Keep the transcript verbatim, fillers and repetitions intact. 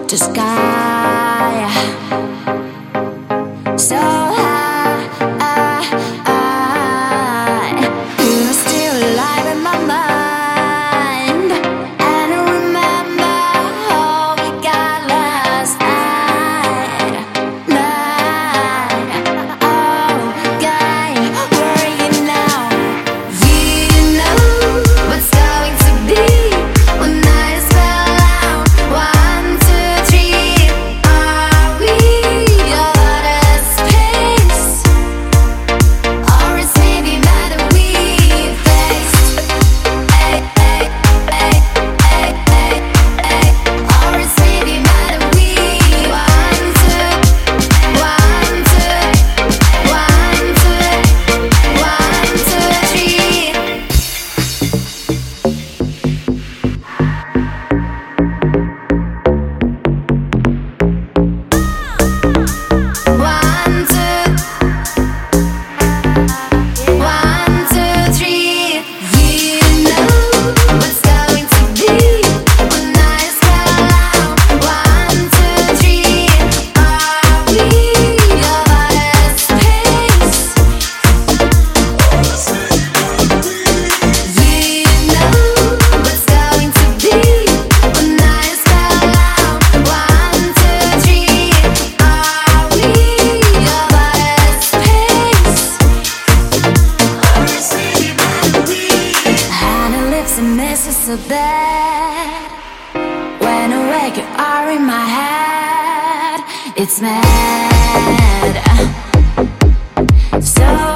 to sky, so high. You're still alive in my mind, and I remember how we got last night. Night. Oh, guy, where are you now? You know what's going to be when I spell out one, two, three. Are we out of space, or is maybe matter we faced? Ay, ay, ay, ay, ay, ay. Or is maybe matter we one, two, one, two, one, two, one, two, three. One, two, one, two, three. You know what's going to be when I spell out one, two, three. Are we out of space? You know what's going to be when I spell out one, two, three. Are we out of space? Honey lips and misses so bad. When I wake, you are in my head. It's mad. So